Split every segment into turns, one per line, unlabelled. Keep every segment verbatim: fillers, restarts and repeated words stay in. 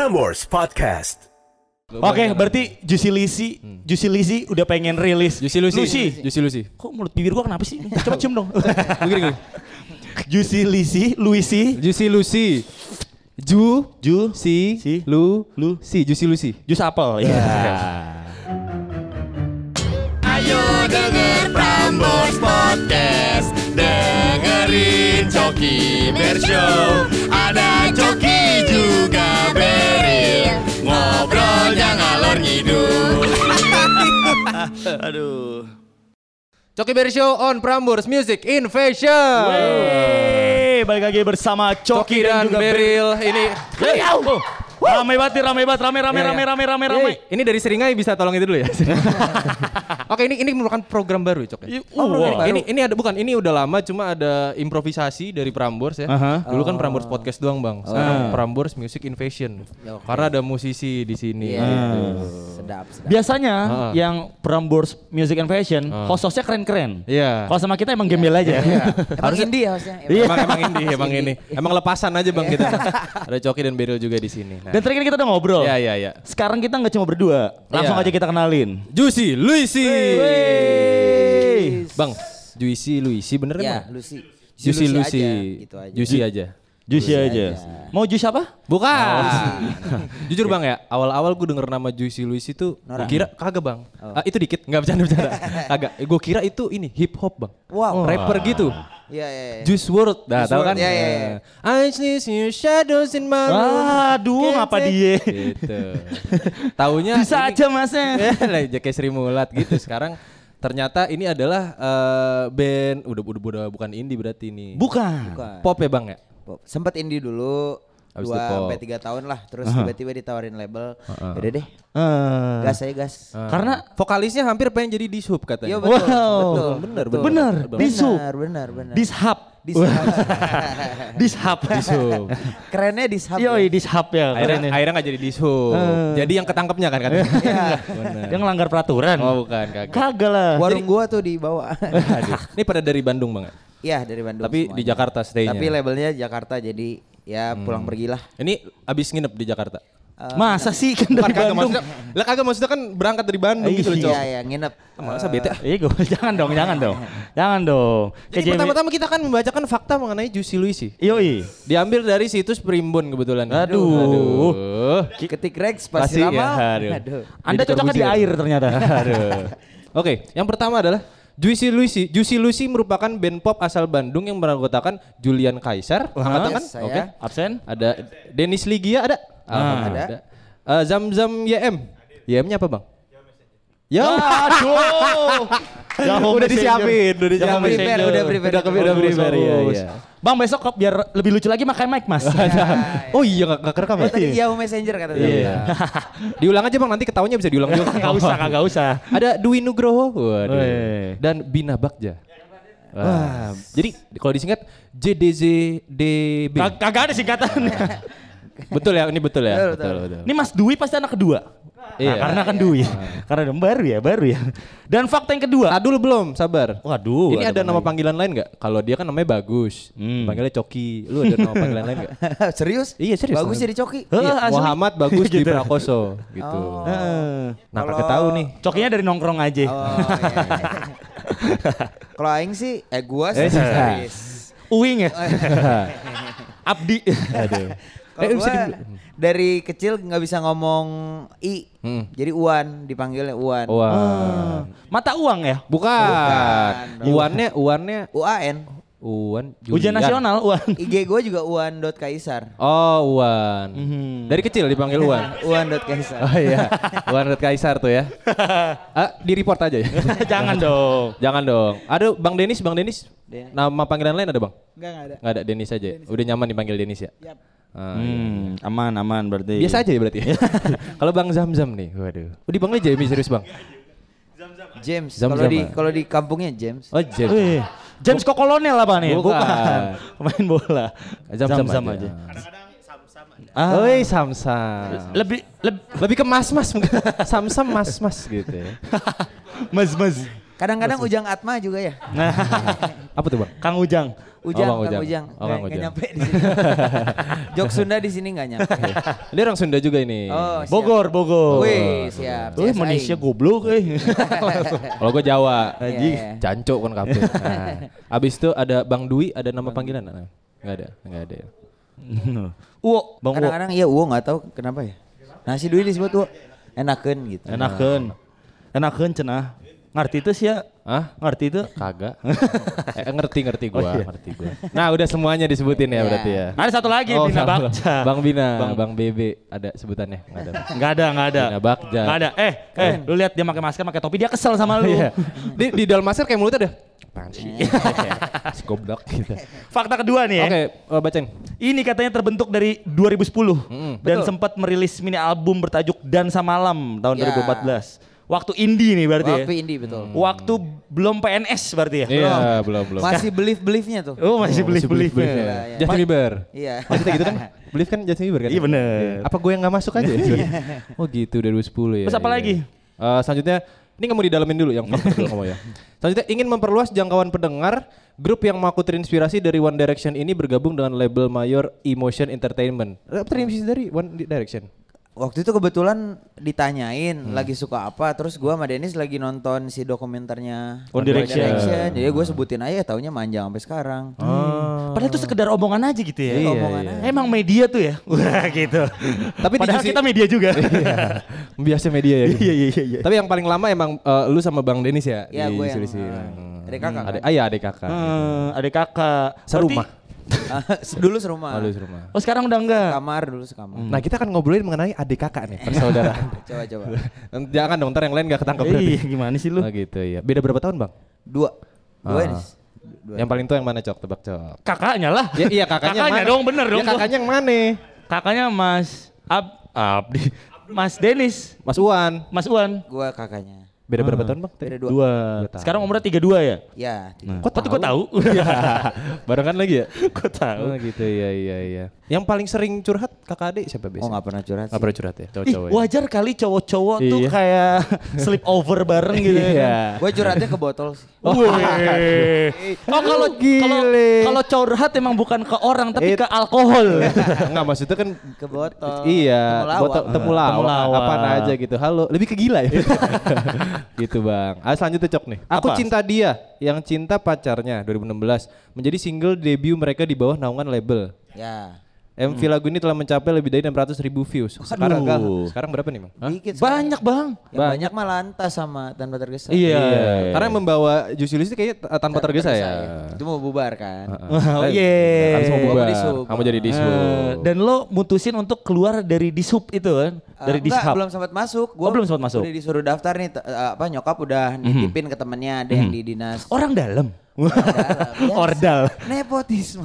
Prambors Podcast.
Oke, okay, berarti Juicy Lucy, hmm. Juicy Lucy udah pengen rilis.
Juicy Lucy.
Lucy.
Lucy Lucy.
Kok mulut bibir gua kenapa sih? Coba cium dong. Begini. Juicy Lucy, Lucy.
Juicy Lucy. Ju,
Ju,
si,
si,
lu,
lu,
si, Juicy Lucy.
Jus apel. Ya.
Ayo denger Prambors Podcast, dengerin Coki Bershow. Ada Coki juga Beril, ngobrolnya ngalor ngidul.
Aduh.
Coki Bershow on Prambors Music Invasion.
Wey, balik lagi bersama Coki,
Coki dan, dan Beril. Ini
hey, oh. Ramai banget, ramai banget, ramai ramai
ya,
ramai
ya.
ramai ramai ramai.
Ini dari Seringai bisa tolong itu dulu ya. Oke, ini ini merupakan program baru ya, Cok. Ya?
Oh,
program
wow.
baru. Ini ini ada bukan, ini udah lama cuma ada improvisasi dari Prambors ya.
Uh-huh.
Dulu kan Prambors Podcast doang, Bang. Sekarang uh. Prambors Music Invasion. Okay. Karena ada musisi di sini
yeah.
gitu.
Sedap, sedap.
Biasanya
uh-huh.
yang Prambors Music Invasion
uh.
host-hostnya keren-keren.
Iya. Yeah.
Kalau sama kita emang gembel aja.
Harus indie hostnya.
Emang emang indie, emang ini. Emang lepasan aja, Bang, kita. Ada Coki dan Beril juga di sini. Nah.
Dan tadi kan kita udah ngobrol.
Iya, iya, iya.
Sekarang kita nggak cuma berdua, langsung
yeah.
aja kita kenalin.
Juicy Lucy.
Wey.
Bang, Juicy Lucy bener kan?
Ya,
Bang?
Lucy.
Juicy Lucy.
Gitu aja.
Juicy aja.
Juicy aja. Mau jus apa?
Bukan. Jujur Bang ya, awal-awal gue denger nama Juicy Lucy tuh gue kira kagak Bang. Oh. Uh, itu dikit, enggak bercanda-bercanda. Kagak. Gue kira itu ini hip hop Bang.
Wow.
Rapper gitu.
Iya, iya, iya.
Juice world. Dah tahu kan?
Iya, iya, iya.
I see your shadows in my room.
Aduh, ngapa dia?
Gitu. Taunya
bisa
ini,
aja Masnya.
Ya, lah kayak Sri Mulat gitu. Sekarang ternyata ini adalah uh, band udah, udah udah bukan indie berarti ini.
Bukan.
Bukan.
Pop ya Bang ya?
Pop. Sempet indie dulu.
Abis
dua sampai tiga tahun lah, terus uh-huh. tiba-tiba ditawarin label, uh-huh. yaudah deh, uh. gas aja gas.
Uh.
Karena
vokalisnya hampir pengen jadi Dishub katanya.
Yo, betul,
wow.
betul,
bener,
betul,
bener,
bener,
Dishub,
bener, bener, bener.
Dishub,
Dishub,
Dishub,
Dishub.
Kerennya Dishub.
Yoi, Dishub ya.
Akhirnya, akhirnya nggak jadi Dishub. Uh. Jadi yang ketangkepnya kan kan?
Dia ngelanggar peraturan.
Oh bukan, kagak.
Kagak lah.
Warung gua tuh di bawah.
Ini pada dari Bandung Bang?
Iya dari Bandung.
Tapi semuanya. Di Jakarta stay-nya.
Tapi labelnya Jakarta jadi. Ya pulang hmm. pergilah.
Ini abis nginep di Jakarta?
Uh, Masa sih kan dari
kagak,
Bandung?
Maksudnya, lah kagak maksudnya kan berangkat dari Bandung
Iyi,
gitu loh Cok.
Iya iya nginep.
Masa bete ah.
Iya gue jangan dong, jangan dong. Jangan dong.
Jadi pertama-tama kita akan membacakan fakta mengenai Juicy Lucy.
Yoi.
Diambil dari situs Primbon kebetulan.
Aduh.
Aduh. Ketik Rex pasti lama.
Ya, aduh.
Aduh.
Anda cocoknya di air ternyata.
Aduh. Oke, yang pertama adalah Juicy Lucy. Juicy Lucy merupakan band pop asal Bandung yang beranggotakan Julian Kaisar, angkatan kan?
Yes,
Oke. Okay.
Absen?
Ada Dennis Ligia ada?
Ah, ada.
ada. Uh, Zam-Zam Y M. Y M-nya apa, Bang? Ya.
Aduh.
Udah disiapin, udah disiapin.
Prepare, udah prepare.
Udah udah prepare ya, ya.
Bang besok kok biar lebih lucu lagi makan mic Mas.
Oh iya enggak kerekam ya?
Oh, tadi Yahoo Messenger kata dia.
Iya. Diulang aja Bang, nanti ketawanya bisa diulang juga.
Enggak usah, kagak usah.
Ada Dwi Nugroho, waduh.
Wey.
Dan Bina Bagja. Wah. Jadi kalau disingkat J D Z D B.
Kagak ada singkatannya.
Betul ya, ini betul ya.
Betul,
betul,
betul.
betul.
Ini Mas Dwi pasti anak kedua.
Iya.
Nah, karena kan Dwi. Karena dong baru ya, baru ya. Dan fakta yang kedua.
Ah dulu belum, sabar.
Waduh.
Ini ada nama lagi. Panggilan lain nggak? Kalau dia kan namanya Bagus, hmm. panggilnya Coki. Lu ada nama panggilan lain nggak?
Serius?
Iya serius.
Bagus jadi Coki.
Iya,
asli.
Muhammad Bagus
Gitu.
di Prakoso gitu.
Oh.
Nah,
Kalo...
kakek tahu nih.
Cokinya dari nongkrong aja.
Oh, iya, iya. Kalau aing sih, eh gua
Eh,
sih serius.
Uwing ya. Abdi.
Aduh.
Kalau
Eh,
gua
bisa di...
dari kecil nggak bisa ngomong i,
Hmm.
jadi Uwan dipanggilnya Uwan.
Wah.
Ah. Mata uang ya?
Bukan.
Bukan.
Uannya, uannya
U A N.
Uan.
Ujian
Julian.
nasional uang.
I G gua juga Uwan dot Kaisar.
Oh, Uan.
Mhm.
Dari kecil dipanggil Uan.
Uwan dot Kaisar.
Oh iya. Uan Kaisar tuh ya. Ah, di report aja ya.
Jangan dong.
Jangan dong. Ada Bang Denis, Bang Denis.
Denis.
Nama panggilan lain ada, Bang?
Enggak, enggak ada.
Enggak ada, Denis aja.
Denis.
Udah nyaman dipanggil Denis ya?
Yap.
Ah,
Hmm, aman aman berarti.
biasa aja ya berarti. Kalau Bang Zam-Zam nih, waduh. Oh, dipanggil Jamie serius, Bang?
James.
Zam-Zam
Kalau di
ah.
kalau di kampungnya James.
Oh, James.
Wih, James kok kolonel apa nih?
Bukan.
Pemain bola.
Zam-Zam
Zam-zam
aja.
aja.
Ah. Oi, Samsam.
Lebih lebih
Lebih ke mas-mas mungkin. Samsam mas-mas gitu ya.
mas mas.
Kadang-kadang Ujang Atma juga ya.
Apa tuh bang?
Kang Ujang.
Ujang,
Bang
Kang
Ujang.
Ujang.
Oh, Kang
Nggak- nggak
Ujang.
nyampe di sini. Jok Sunda di sini nggak nyampe.
Dia orang Sunda juga ini.
Oh, siap.
Bogor, Bogor.
Wih, siap.
Wih,
Siap,
Malaysia
saing.
goblok eh.
Kalau gue Jawa.
Iya, iya.
Jancok kan kabeh. Nah, abis itu ada Bang Dwi, ada nama panggilan? Nah, nggak ada, nggak ada ya.
Uwo, Bang Uwo.
Kadang-kadang iya Uwo nggak tahu kenapa ya. Nasi Dwi disebut Uwo. Enakeun gitu.
Enakeun. Enakeun cenah. Ngerti itu sih ya?
Hah?
Ngerti itu?
Kagak. eh, ngerti ngerti gua,
Oh, iya.
ngerti gua. Nah, udah semuanya disebutin ya
Iya.
berarti ya.
Ada satu lagi
Oh,
Bina
sama.
Bagja.
Bang Bina,
Bang-
Bang, Bebe ada sebutannya? Enggak ada.
Enggak ada, enggak ada.
Bina Bagja.
Enggak ada. Eh, eh, lu lihat dia pakai masker, pakai topi, dia kesel sama lu.
Iya. Di, di dalam masker kayak mulutnya ada. Apaan sih? Si goblok gitu.
Fakta kedua nih ya.
Oke, eh, bacain.
Ini katanya terbentuk dari dua ribu sepuluh
Mm-mm.
dan
Betul.
sempat merilis mini album bertajuk Dansa Malam tahun
Ya.
dua ribu empat belas. Waktu indie nih berarti
Waktu
ya.
indie betul.
Waktu belum P N S berarti ya.
Iya, belum belum.
Masih belief-beliefnya tuh.
Oh, masih beli beli.
belief
Iya,
ya.
iya.
Justin Bieber.
Iya.
Maksudnya gitu kan? Belief kan Justin Bieber kan?
Iya bener.
Apa gue yang gak masuk aja? Oh gitu dua ribu sepuluh ya.
Terus apa
iya.
lagi?
Eh, selanjutnya ini nggak mau didalamin dulu yang fakta dulu kamu ya. Selanjutnya ingin memperluas jangkauan pendengar, grup yang mengaku terinspirasi dari One Direction ini bergabung dengan label mayor Emotion Entertainment. Eh, Terinspirasi dari One Direction.
Waktu itu kebetulan ditanyain
Hmm.
lagi suka apa, terus gua sama Dennis lagi nonton si dokumenternya
One Direction.
Jadi gue sebutin aja, taunya manjang sampai sekarang.
Padahal itu sekedar omongan aja gitu ya.
Iya,
omongan
iya.
aja.
Emang media tuh ya. Wah gitu.
Tapi di
Padahal
sisi-
kita media juga.
Biasa media ya.
Iya iya iya.
Tapi yang paling lama emang eh, lu sama Bang Denis ya?
Iya,
di
gue yang,
selisih.
eh,
Hmm.
adik kakak
Ada,
kan?
ah iya adik kakak.
Hmm, adik kakak.
Serumah.
Dulu serumah.
Oh, lu serumah.
Oh sekarang udah enggak.
Kamar dulu sekamar.
Nah kita akan ngobrolin mengenai adik kakak nih, persaudaraan.
Coba coba.
Jangan dong, ntar yang lain gak ketangkep berarti.
Iya gimana sih lu?
Oh gitu ya. Beda berapa tahun bang?
Dua. Dua
Ah.
Dennis. Dua.
Yang paling tua yang mana cok? Tebak cok.
Kakaknya lah.
Ya iya kakaknya, yang mana?
dong bener dong.
Ya kakaknya yang mana?
Kakaknya Mas Ab Abdi. Mas Denis.
Mas Uwan.
Mas Uwan.
Gua kakaknya.
Beda berapa tahun bang?
Beda dua.
Dua.
tahun.
Sekarang umurnya tiga dua ya?
Ya.
Kok tuh gue tahu?
Barengan lagi ya?
Gue tahu.
Oh gitu iya iya iya. Yang paling sering curhat kakak adik siapa
Oh
biasanya?
nggak pernah curhat
Nggak
sih.
pernah curhat ya?
Ih,
Cowok-cowok ya?
wajar kali cowok-cowok tuh
Iya.
kayak sleep over bareng gitu ya.
Iya.
Gue curhatnya ke botol sih.
Oh, oh kalau kalau kalau curhat emang bukan ke orang tapi
It-
ke alkohol.
Enggak maksudnya kan
Ke botol.
Iya,
Temulawak.
botol temulawak,
Temulawak.
apaan aja gitu. Halo, lebih ke gila ya. Gitu bang. Ah selanjutnya cok nih. Aku
Apa?
cinta dia, yang cinta pacarnya dua ribu enam belas menjadi single debut mereka di bawah naungan label.
Ya.
M V lagu ini telah mencapai lebih dari enam ratus ribu views. Sekarang
Aduh.
sekarang berapa nih bang?
Dikit sekarang.
Banyak bang.
Yang banyak mah lantas sama tanpa tergesa.
Iya.
Karena yang membawa Juicy Luicy kayaknya t- tanpa tergesa ya.
Itu mau bubar kan.
Oh
Eh,
iya.
Habis mau
Gua
bubar.
di sub.
Kamu jadi di sub.
Eh, dan lo mutusin untuk keluar dari dishub itu kan? Dari
Eh, enggak,
dishub.
belum sempat masuk.
Oh, belum sempat masuk.
Udah disuruh daftar nih, t- eh, apa nyokap udah nitipin ke temennya ada yang di dinas.
Orang dalam.
Biasa.
Ordal.
Nepotisme.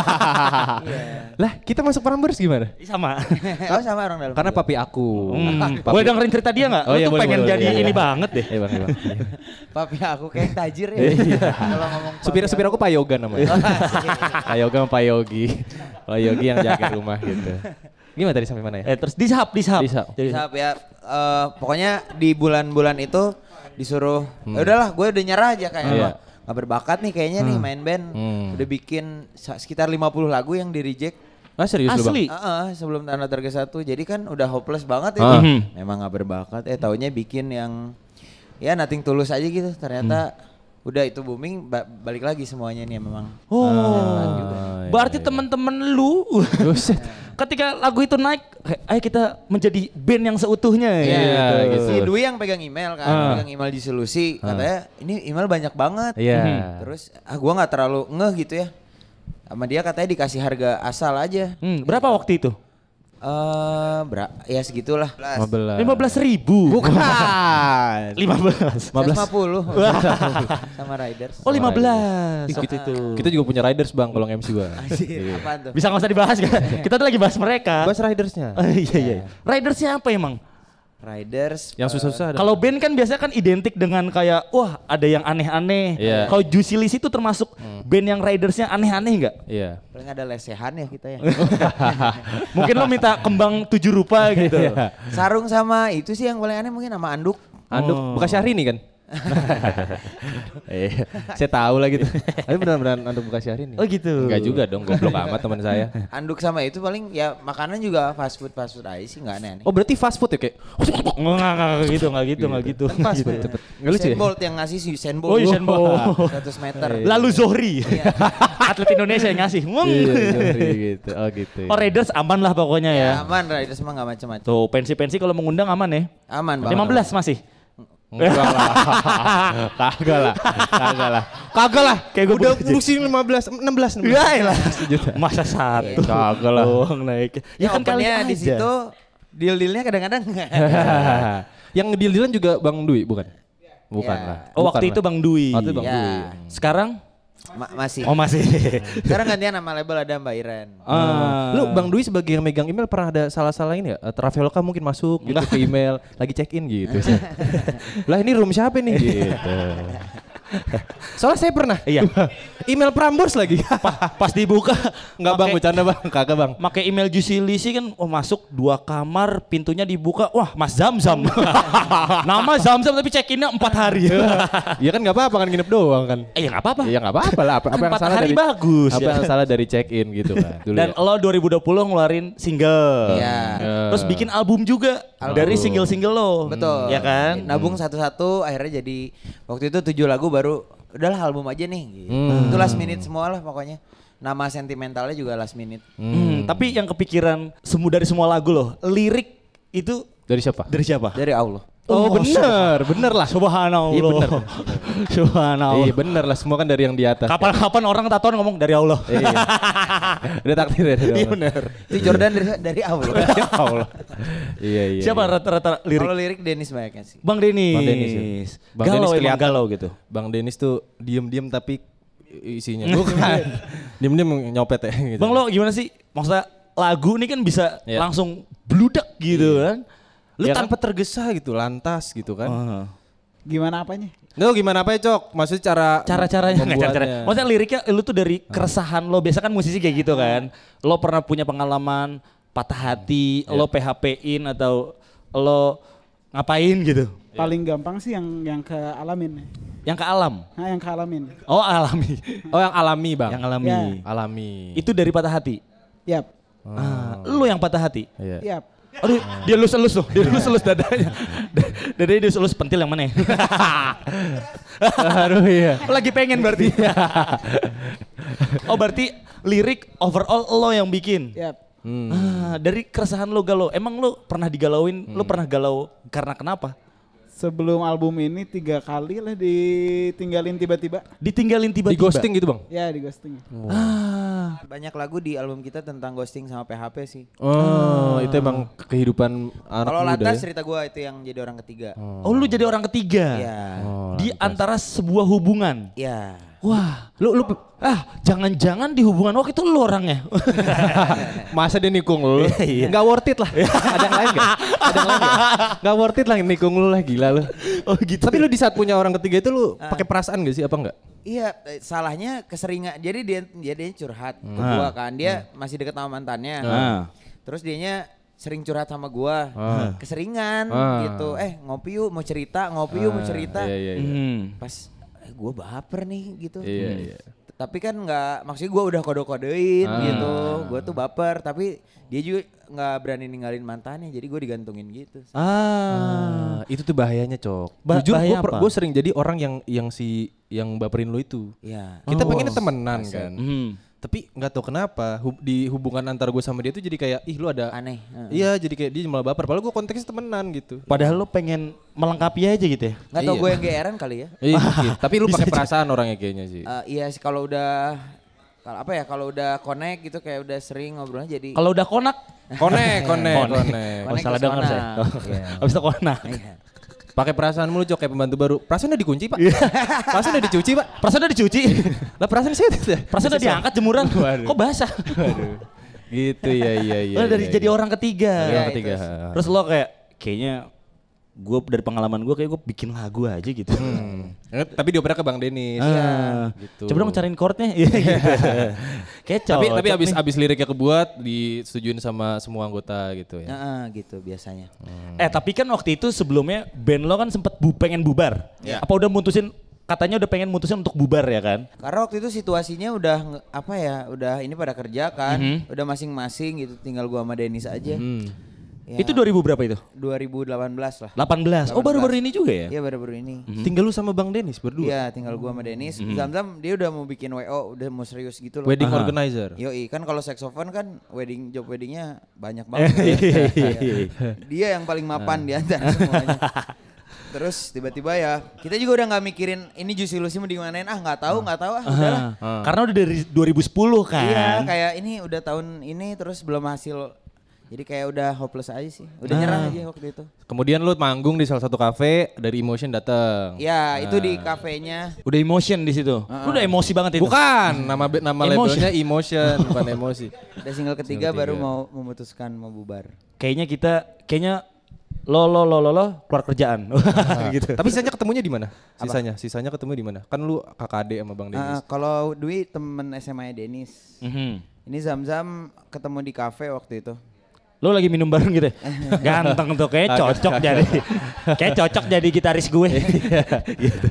Iya.
Lah kita masuk Prambors gimana?
Sama.
Oh sama orang dalam.
Karena papi aku.
Hmm.
Papi-
Boleh dengerin cerita dia nggak?
Oh
Lo
iya,
tuh
boleh,
pengen
boleh,
jadi
boleh.
ini banget deh.
Iya bang, iya bang.
Papi aku kayak tajir ya. Kalau ngomong papi
Supir supir aku Pak Yoga namanya.
Oh, asik.
Pak Yoga sama Pak Yogi. Pak Yogi yang jaga rumah gitu. Gimana tadi sampai mana ya?
Eh terus dishub, dishub.
Dishub.
Jadi
Siap ya. Eh, pokoknya di bulan-bulan itu disuruh, "Ya udahlah, gue udah nyerah aja kayak
Iya.
"Wah, nggak berbakat nih kayaknya nih main band."
Hmm.
Udah bikin sa- sekitar lima puluh lagu yang di reject.
Ah serius lu bang?
asli.
Heeh, sebelum Tanah Tergesa satu. Jadi kan udah hopeless banget itu.
Ah.
Memang nggak berbakat. Eh taunya bikin yang ya nothing tulus aja gitu. Ternyata udah itu booming, ba- balik lagi semuanya nih memang.
Oh.
Ah,
Berarti
iya, iya.
teman-teman lu
Buset.
ketika lagu itu naik, kayak, ayo kita menjadi band yang seutuhnya
Iya,
gitu.
gitu.
Si Dwi yang pegang email kan,
Ah.
pegang email di solusi. Katanya ini email banyak banget.
Iya.
Terus ah gua nggak terlalu ngeh gitu ya. Sama dia katanya dikasih harga asal aja.
Hmm, berapa waktu itu?
Eh, bra- ya segitulah.
lima belas.
lima belas ribu.
Bukan.
lima belas.
lima belas.
seratus lima puluh sama Riders.
Oh lima belas.
Kita,
Waktu itu.
kita juga punya riders bang kalau M C gua.
Anjir, apaan tuh?
Bisa nggak usah dibahas kan? Kita tuh lagi bahas mereka.
Bahas ridersnya.
Oh, iya iya. Ridersnya apa emang?
Riders.
Yang susah-susah ada.
Kalau band kan biasanya kan identik dengan kayak wah ada yang aneh-aneh.
Iya.
Kalau Juicy Luicy itu termasuk band yang ridersnya aneh-aneh nggak?
Iya.
Paling ada lesehan ya kita ya.
Mungkin lo minta kembang tujuh rupa gitu.
Iya.
Sarung sama itu sih yang paling aneh mungkin sama anduk.
Anduk
Oh.
bekas Syahrini kan? Eh, saya tahu lah gitu. Tapi beneran-beneran anduk bekas Syahrini.
Oh gitu.
Enggak juga dong, goblok amat teman saya.
Anduk sama itu paling ya makanan juga fast food fast food aja sih nggak aneh-aneh.
Oh berarti fast food ya kayak?
Enggak enggak gitu, enggak gitu, enggak gitu.
Fast food.
Cepet. Nggak lucu ya?
Usain Bolt yang ngasih si Usain Bolt.
Oh, Usain Bolt.
seratus meter.
Lalu Zohri.
Iya.
Atlet Indonesia yang ngasih. Ngeng.
Iya, sorry, gitu. Oh gitu.
Oh Raiders aman lah pokoknya ya.
Ya, aman Raiders mah nggak macam-macam.
Tuh pensi-pensi kalau mengundang aman ya.
Aman banget.
lima belas masih.
Enggak lah. Kagak lah. Kagak lah. Kagak lah.
Kayak gua
udah
bekerja.
ngurusin lima belas, enam belas.
Ya lah. Masa satu.
Kagak lah.
Oh, naik.
Ya, kan
kali
opennya di
aja.
situ deal-dealnya kadang-kadang
Yang ngedeal-dealan juga Bang Dwi bukan? Bukan
Ya.
lah.
Oh
Bukan
waktu
lah.
itu Bang Dwi.
Waktu itu Bang
Ya.
Dwi.
Sekarang?
Ma- masih.
Oh masih.
Sekarang gantian nama label ada Mbak Iren.
Ah.
Lu Bang Dwi sebagai yang megang email pernah ada salah-salah ini ya? Eh, Traveloka mungkin masuk gitu ke email, lagi check in gitu. Lah ini room siapa nih gitu. Soalnya saya pernah.
Iya.
Email Prambors lagi.
Pa- pas dibuka
Enggak Bang,
pakai-
bercanda Bang. Kagak Bang.
Pakai email Juicy Lisi kan, oh masuk dua kamar, pintunya dibuka, wah Mas Zamzam. Nama Zamzam tapi check-innya empat hari.
Ya kan enggak apa-apa kan nginep doang kan.
Eh ya nggak apa-apa.
Ya enggak apa-apa lah. Apa, apa yang
Empat
salah
hari
dari
bagus,
Apa
ya.
yang salah dari check in gitu kan. Dulu
Dan
ya.
lo dua ribu dua puluh ngeluarin single.
Iya.
Terus bikin album juga dari single-single lo.
Betul.
Ya kan?
Nabung satu-satu akhirnya jadi waktu itu tujuh lagu baru udahlah album aja nih gitu.
Hmm.
Itu last minute semua lah pokoknya. Nama sentimentalnya juga last minute.
Hmm, tapi yang kepikiran semua dari semua lagu lo, lirik itu
Dari siapa?
dari siapa?
Dari Allah.
Oh, bener, bener lah.
Subhanallah.
Iya, bener.
Subhanallah.
Iya bener lah, semua kan dari yang di atas.
Kapan-kapan orang tatoan ngomong dari Allah.
Iya. Udah takdir ya.
Iya benar.
Itu Jordan dari dari Allah.
Ya Allah. Iya iya.
Siapa
iya.
rata-rata lirik?
Kalau lirik Dennis banyaknya sih.
Bang Denis.
Bang Denis ya. Bang
galau
Denis
emang
kelihatan.
galau gitu.
Bang Denis tuh diem-diem tapi isinya bukan. Diem-diem nyopet ya gitu.
Bang lo gimana sih? Maksudnya lagu ini kan bisa
Iya.
langsung bludak gitu kan.
Lu
Ya
tanpa tergesa gitu, lantas gitu kan.
kan?
Gimana apanya?
Lu gimana apa ya, Cok? Maksudnya cara
Cara-caranya nggak cara-cara.
membuatnya.
Maksudnya liriknya lu tuh dari keresahan lo. Biasa kan musisi kayak gitu kan. Lo pernah punya pengalaman patah hati, lo P H P-in atau lo ngapain gitu.
Paling gampang sih yang yang ke alamin.
Yang ke alam.
Nah, yang ke alamin.
Oh alami.
Oh yang alami, Bang.
Yang alami.
Ya.
Alami.
Itu dari patah hati.
Yap.
Ah, lu yang patah hati.
Iya.
Yap.
Aduh, dia elus-elus tuh. Dia elus-elus dadanya. Dadanya dia elus pentil yang mana ya?
Aduh iya.
Lagi pengen berarti. Oh berarti lirik overall lo yang bikin.
Yap.
Hmm.
Ah, dari keresahan lo galau. Emang lo pernah digalauin? Lo pernah galau karena kenapa?
Sebelum album ini tiga kali lah ditinggalin tiba-tiba.
Ditinggalin
Di
tiba-tiba.
ghosting gitu, Bang.
Ya di ghosting.
Ah,
Banyak lagu di album kita tentang ghosting sama P H P sih.
Oh, itu emang kehidupan anak
Kalau
muda
lantas
ya.
cerita gua itu yang jadi orang ketiga.
oh lu jadi orang ketiga.
Iya.
Oh,
Di antara sebuah hubungan.
Iya.
Wah, lu lu ah jangan-jangan di hubungan waktu itu lu orangnya.
Masa dia nikung lu? Enggak worth it lah. Ada yang lain enggak? Ada yang lain enggak? Enggak worth it lah nikung lu lah, gila lu.
Oh gitu.
Tapi lu di saat punya orang ketiga itu lu pakai perasaan gak sih apa enggak?
Iya, eh, salahnya keseringan. Jadi dia dia dia curhat ke
Ah.
gua kan. Dia masih deket sama mantannya.
Ah.
Terus dianya sering curhat sama gua.
Ah.
Keseringan
Ah.
gitu. Eh, ngopi yuk mau cerita, ngopi yuk mau cerita.
Iya iya iya.
Hmm.
Pas eh, gua baper nih gitu.
Iya iya.
Tapi kan nggak, maksudnya gue udah kode-kodein
Ah.
gitu, gue tuh baper, tapi dia juga nggak berani ninggalin mantannya, jadi gue digantungin gitu.
Ah.
Ah, itu tuh bahayanya, Cok.
Ba-
Jujur
bahaya apa?
gue sering jadi orang yang yang si yang baperin lu itu.
Iya.
Kita
Oh.
pengennya temenan kan.
Hmm.
Tapi nggak tahu kenapa hub- di hubungan antara gue sama dia tuh jadi kayak ih lu ada
Aneh. Heeh.
Iya, jadi kayak dia malah baper. Padahal gue konteksnya temenan gitu.
Padahal lu pengen melengkapi aja gitu ya.
Nggak tau
Iya.
gue yang G R-an kali ya.
Iya, gitu. Tapi lu
Bisa
pakai
aja.
perasaan orangnya kayaknya sih.
Eh, iya sih kalau udah, kalau apa ya, kalau udah connect gitu kayak udah sering ngobrolnya jadi.
Kalau udah konak,
Konek, konek,
Konek.
konek.
oh,
Konek
salah
ke
dengar
sana.
saya.
Iya.
Habis itu konak.
Iya.
Pakai perasaan mulu, Cok, kayak pembantu baru. Perasaan udah dikunci, Pak. Perasaan udah dicuci, Pak.
Perasaan udah dicuci.
Lah perasaan saya
Perasaan udah diangkat jemuran.
Waduh.
Kok basah?
Waduh. Gitu ya, iya iya.
Lo dari
iya,
jadi
iya.
orang ketiga.
Dari
Iya,
orang ketiga.
itu.
Terus lo kayak kayaknya gue dari pengalaman gue kayak gue bikin lagu aja gitu.
Hmm. Tapi dioper ke Bang Denis.
Ah,
gitu.
Coba dong cariin chordnya. Iya gitu. Kayak
Tapi tapi
cocok
abis
nih.
abis liriknya kebuat disetujuin sama semua anggota gitu ya.
Heeh, gitu biasanya.
Eh tapi kan waktu itu sebelumnya band lo kan sempet bu, pengen bubar.
Ya.
Apa udah mutusin, katanya udah pengen mutusin untuk bubar ya kan?
Karena waktu itu situasinya udah nge- apa ya, udah ini pada kerja kan,
Mhm.
udah masing-masing gitu, tinggal gua sama Denis aja.
Hmm.
Ya,
Itu dua ribu berapa itu?
dua ribu delapan belas lah.
delapan belas. Oh baru-baru ini juga ya?
Iya baru-baru ini.
Tinggal lu sama Bang Denis berdua.
Iya tinggal gua sama Denis. Zam-Zam dia udah mau bikin W O, udah mau serius gitu loh.
Wedding
Aha.
organizer.
Yoi, kan kalau saxophone kan wedding job weddingnya banyak banget.
Iya, iya,
Iya.
iya.
Dia yang paling mapan di antara semuanya. Terus tiba-tiba ya kita juga udah nggak mikirin ini Juicy Lucy mau dimanain, ah nggak tahu nggak tahu ah udahlah.
Ah. Karena udah dari dua ribu sepuluh kan?
Iya kayak ini udah tahun ini terus belum hasil, jadi kayak udah hopeless aja sih, udah
Ah.
nyerah aja waktu itu.
Kemudian lu manggung di salah satu kafe, dari Emotion datang.
Ya itu di kafenya.
Udah emotion di situ. Lu udah emosi banget itu.
Bukan, nama be- nama
Emotion.
labelnya Emotion, bukan emosi.
Udah single ketiga baru mau memutuskan mau bubar.
Kayaknya kita, kayaknya lo lo lo lo lo keluar kerjaan. gitu.
Tapi sisanya ketemunya di mana? Sisanya, sisanya ketemu di mana? Kan lu kakak adik sama Bang Denis.
Ah, kalau Dwi temen S M A Denis.
Mhm.
Ini Zam-Zam ketemu di kafe waktu itu.
Lo lagi minum bareng gitu ya? Ganteng tuh, kayak cocok jadi, kayak cocok jadi gitaris gue. gitu.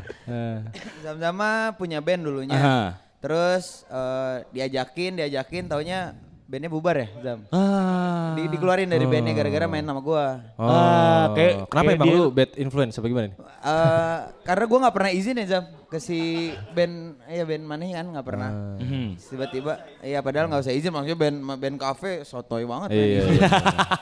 Zam-Zam mah punya band dulunya.
Aha.
Terus eh, diajakin, diajakin taunya bandnya bubar ya Zam.
Ah.
Di, dikeluarin dari bandnya gara-gara main sama gua.
Oh,
Ah, kayak-
kenapa
kayak
emang
dia-
lu bad influence apa gimana nih?
Eh, karena gua nggak pernah izin ya Zam ke si band, ya band mana kan nggak pernah.
Mhm.
Tiba-tiba, ya padahal nggak usah izin, maksudnya band band cafe sotoy banget.
Iya,
main
iya,
izin.
iya.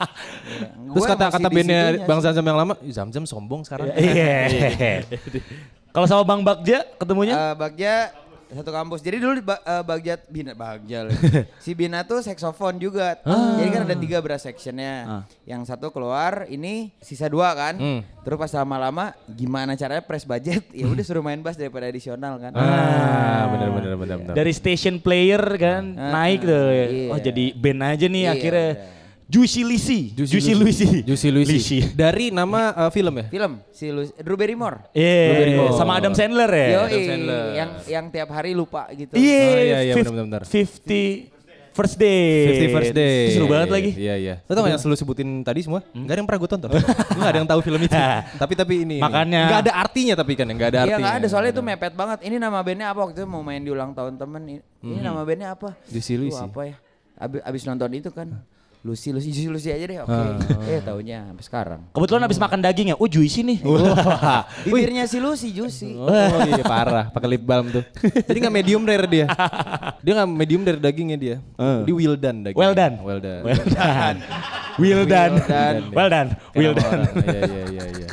Iya.
Terus
Gua
kata
emang
kata
si
bandnya
disitunya
Bang
sih.
Zamzam yang lama, "Ih, Zamzam sombong sekarang."
Iya. Kalau sama Bang Bagja ketemunya?
Eh, Bagja satu kampus. Jadi dulu ba- eh, Bagja Bina Bagja lagi. Si Bina tuh saksofon juga. Jadi kan ada tiga brass sectionnya.
Ah.
Yang satu keluar, ini sisa dua kan.
Hmm.
Terus pas lama-lama gimana caranya press budget? Ya udah suruh main bass daripada additional kan.
Ah, benar benar benar benar.
Dari station player kan
Ah,
naik tuh.
iya.
Oh jadi band aja nih
Iya,
akhirnya.
udah.
Juicy Lucy. Juicy Lucy.
Juicy Lucy. Dari nama uh, film ya?
Film si Lu- Drew Barrymore.
Iya,
Barrymore.
sama Adam Sandler ya.
Yo,
Adam Sandler.
yang yang tiap hari lupa gitu.
Iya,
Oh, iya, iya,
fif-
benar-benar.
fifty First Day.
Fifty First Day.
Seru banget lagi.
Iya iya. Lo tau gak yang selalu sebutin tadi semua? Gak ada yang pernah gue tonton. Gue gak ada yang tahu film itu. tapi tapi ini.
Makanya.
Gak ada artinya tapi kan, gak ada
Iya
artinya.
nggak ada, soalnya itu mepet banget. Ini nama bandnya apa waktu itu mau main di ulang tahun temen. Ini, ini nama bandnya apa?
Juicy
Duh,
Lucy.
apa ya? Abis, abis nonton itu kan. Lucy, Lucy, Juicy Lucy aja deh. Oke. Eh taunya sampai sekarang.
Kebetulan habis makan daging ya. Oh juicy nih.
Bibirnya si Lucy, Juicy.
Oh iya parah, pakai lip balm tuh. Jadi gak medium rare dia. Dia gak medium rare dagingnya dia. Dia well done dagingnya.
Well done.
Well done.
Well done. Well done.
done.
Well done. Well
Kayak nama
done.
orang. Iya iya iya iya.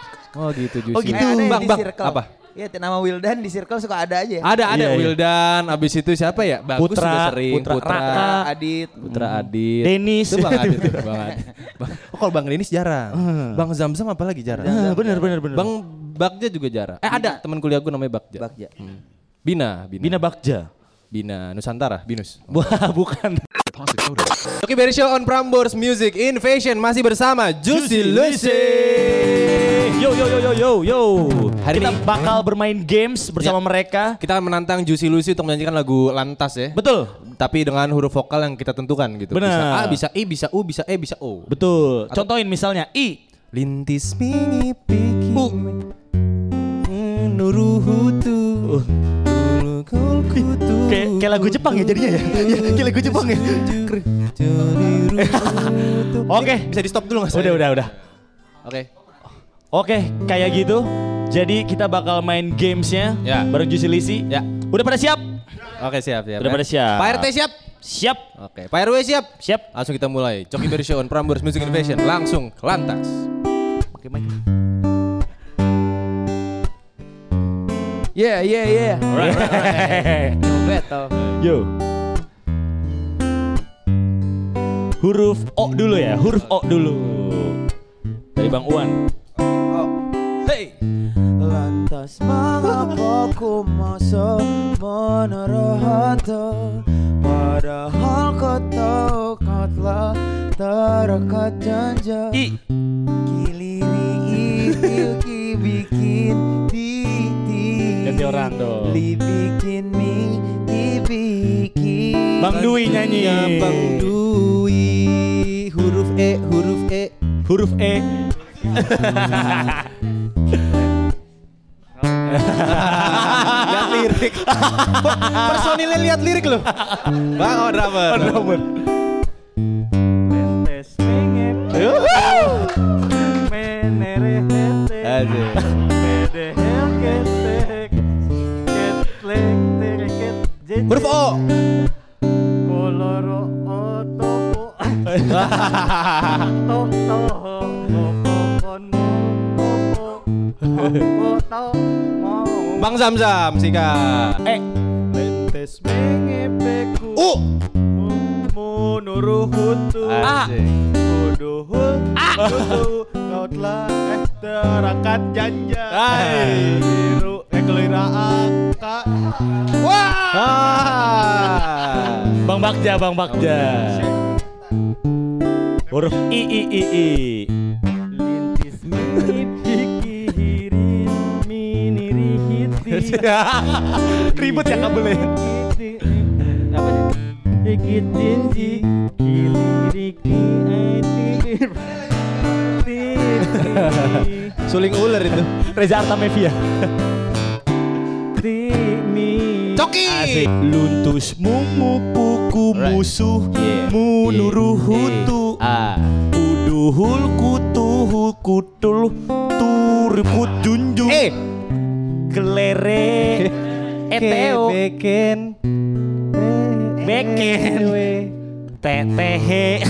Oh gitu Juicy.
Oh, gitu.
Eh, ada yang
Bang,
di
bang,
circle.
apa?
Iya nama Wildan di circle suka ada aja ya.
Ada ada
Iya, iya.
Wildan, abis itu siapa ya? Bagus
Putra,
juga sering.
Putra, Raka.
Adit.
Putra Adit.
Dennis.
Itu Bang Adit. tuh, Bang Adit. Bang, oh kalau Bang Dennis jarang. Bang Zamzam apalagi jarang.
Ah, bener bener bener.
Bang Bagja juga jarang. Eh ada teman kuliah gue namanya Bagja.
Bagja.
Bina, Bina.
Bina Bagja.
Bina Nusantara, Binus.
Wah bukan.
Oke, Berry Show on Prambors Music Invasion masih bersama Juicy Lucy.
Yo yo yo yo yo yo.
Hari
Kita
ini-
bakal bermain games bersama
Ya.
mereka.
Kita akan menantang Juicy Lucy untuk menyanyikan lagu Lantas ya.
Betul.
Tapi dengan huruf vokal yang kita tentukan gitu.
Benar.
Bisa A, bisa I, bisa U, bisa E, bisa O.
Betul. Contohin misalnya I.
Lintis mengipiki nuruhutu
Kayak kayak lagu Jepang ya jadinya ya. Iya, kayak lagu Jepang ya. Oke.
Bisa di stop dulu nggak?
Udah udah udah.
Oke.
Oke, kayak gitu. Jadi kita bakal main gamesnya
Ya.
bareng Juicy Lucy.
Ya.
Udah pada siap?
Oke siap siap.
Udah
ya.
pada siap.
Pak R T siap?
Siap.
Oke. Pak R W siap?
Siap.
Langsung kita mulai. Coki Berry Show on Prambors Music Invasion. Langsung ke Lantas.
Oke, Mike.
Yeah, yeah, yeah.
Alright, alright.
Betul.
Yo. Huruf O dulu ya, huruf O dulu. Dari Bang Uwan.
Hey.
Lantas mengapa ku masa menaruh hati, padahal kau tahu kau telah terikat janji.
I.
Giliri
orang dong.
Dibikin mie, dibikin.
Bang Dwi nyanyi.
Ya Bang Dwi, huruf E, huruf E.
Huruf E.
Lihat lirik. Personilnya lihat lirik loh. Bang, oh drummer.
Oh, drummer.
Huruf O. Bang Zamzam, sikat.
Eh.
U.
Menuruhutu.
A.
Kuduhul. Kau telah eh terakat janja.
Hai.
Biru eh kelira angka.
Ah.
Bang Bagja, Bang Bagja. Huruf I I I I.
Lintis pikirin mini rihiti.
Ribut ya kabelnya.
Apa sih? Ikitin ji kiliriki aitir.
Suling ular itu.
Reza Artamevia.
Coki.
Asik. Luntus mumu puku musuh
Yeah.
munuruhutu
A.
kuduhul kutuhul kutul turiput junjung
E.
kelere eteo
Beken.
beken tetehe.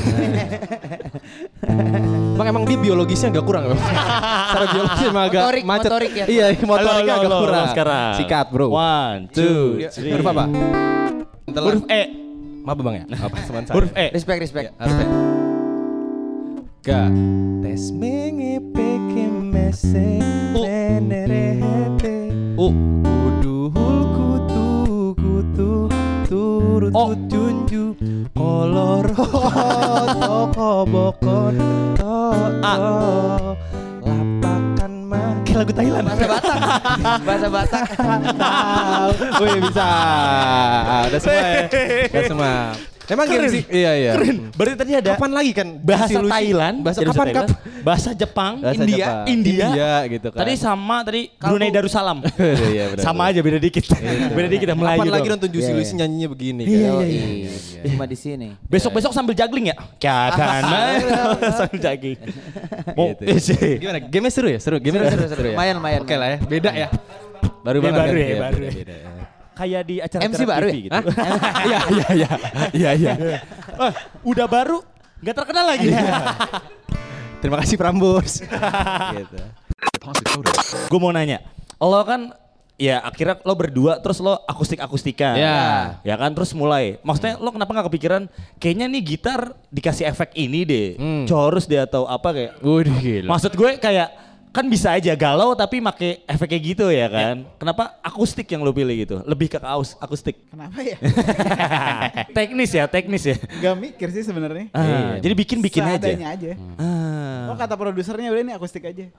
Bang emang dia biologisnya agak kurang memang. Secara biologis emang agak
Motorik,
macet.
motorik ya.
Iya, motoriknya
Halo,
agak
halo,
kurang.
halo, sekarang.
Sikat, bro.
One, two, three.
Huruf apa?
Huruf E.
Maaf Bang ya. Apa teman saya?
Huruf E.
Respect, respect.
Harus ya. Ga. Tes mengepeke mese nenerehete.
U.
Kuduhul kutu kutu turut
O.
junju kolor toko bokon to
A.
lapakan mah
Kayak lagu Thailand.
Bahasa Batak. Bahasa Batak.
Wih bisa. Udah semua ya. Udah semua. Emang game sih. Iya iya.
Keren. Berarti tadi ada
Kapan lagi kan
bahasa
Lucy?
Thailand,
Bahasa
jadi
kapan
Thailand,
kapan?
bahasa Jepang,
Bahasa
India,
Jepang.
India,
India gitu kan.
Tadi sama tadi Brunei Darussalam.
Iya, benar,
Sama
benar.
aja beda dikit. Beda dikit ya Melayu.
Kapan lagi
doang.
nonton Juicy
Iya,
Lucy
iya.
nyanyinya begini
Iya,
kan?
iya,
Iya. Cuma di sini.
Besok-besok sambil juggling ya? Kiatan. Sambil juggling. Mau
Gitu.
eh, sih.
Gimana? Game seru ya? Seru. Game seru, seru, seru ya.
Lumayan, lumayan.
Oke lah ya. Beda ya. Baru
Iya,
banget
baru
kan?
ya,
Iya,
baru
beda,
ya.
beda, ya.
Kayak di acara-acara
M C baru
T V
ya?
gitu.
Iya iya iya. Iya iya.
Eh, udah baru nggak terkenal lagi.
Terima kasih Prambors. Gitu.
Gue mau nanya, lo kan ya akhirnya lo berdua terus lo akustik-akustikan.
Ya.
Ya kan terus mulai. Maksudnya lo kenapa gak kepikiran kayaknya nih gitar dikasih efek ini deh.
Hmm.
Chorus deh atau apa kayak.
Udah gila.
Maksud gue kayak kan bisa aja galau tapi make efek kayak gitu ya kan. Kenapa akustik yang lo pilih gitu? Lebih ke aus, akustik.
Kenapa ya?
Teknis ya, teknis ya.
Gak mikir sih sebenarnya.
Ah, jadi bikin-bikin aja.
Seadanya aja.
Ah.
Oh kata produsernya udah ini akustik aja.